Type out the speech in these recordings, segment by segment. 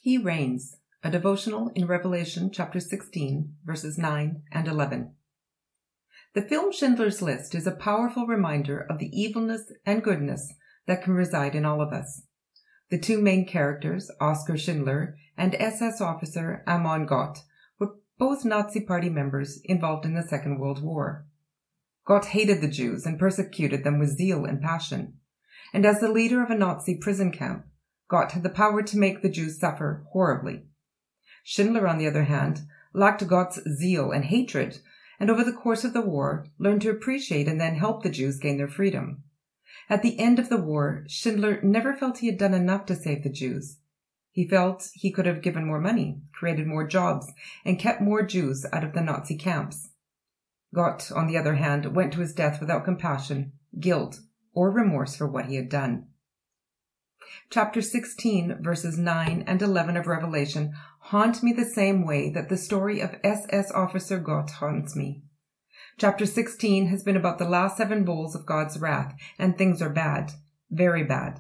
He reigns, a devotional in Revelation chapter 16, verses 9 and 11. The film Schindler's List is a powerful reminder of the evilness and goodness that can reside in all of us. The two main characters, Oskar Schindler and SS officer Amon Gott, were both Nazi Party members involved in the Second World War. Gott hated the Jews and persecuted them with zeal and passion. And as the leader of a Nazi prison camp, Gott had the power to make the Jews suffer horribly. Schindler, on the other hand, lacked Gott's zeal and hatred, and over the course of the war learned to appreciate and then help the Jews gain their freedom. At the end of the war, Schindler never felt he had done enough to save the Jews. He felt he could have given more money, created more jobs, and kept more Jews out of the Nazi camps. Gott, on the other hand, went to his death without compassion, guilt, or remorse for what he had done. Chapter 16, verses 9 and 11 of Revelation haunt me the same way that the story of SS officer Gott haunts me. Chapter 16 has been about the last 7 bowls of God's wrath, and things are bad, very bad.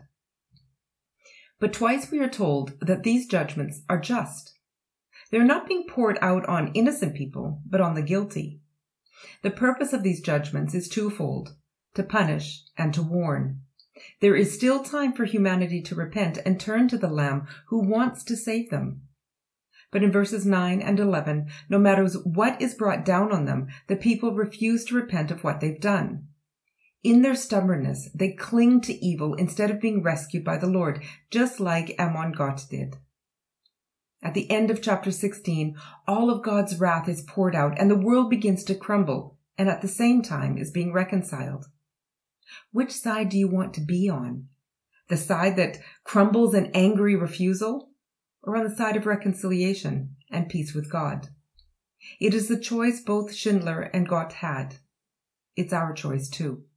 But twice we are told that these judgments are just. They are not being poured out on innocent people, but on the guilty. The purpose of these judgments is twofold: to punish and to warn. There is still time for humanity to repent and turn to the Lamb who wants to save them. But in verses 9 and 11, no matter what is brought down on them, the people refuse to repent of what they've done. In their stubbornness, they cling to evil instead of being rescued by the Lord, just like Amon Gott did. At the end of chapter 16, all of God's wrath is poured out and the world begins to crumble, and at the same time is being reconciled. Which side do you want to be on? The side that crumbles in angry refusal, or on the side of reconciliation and peace with God? It is the choice both Schindler and Gott had. It's our choice too.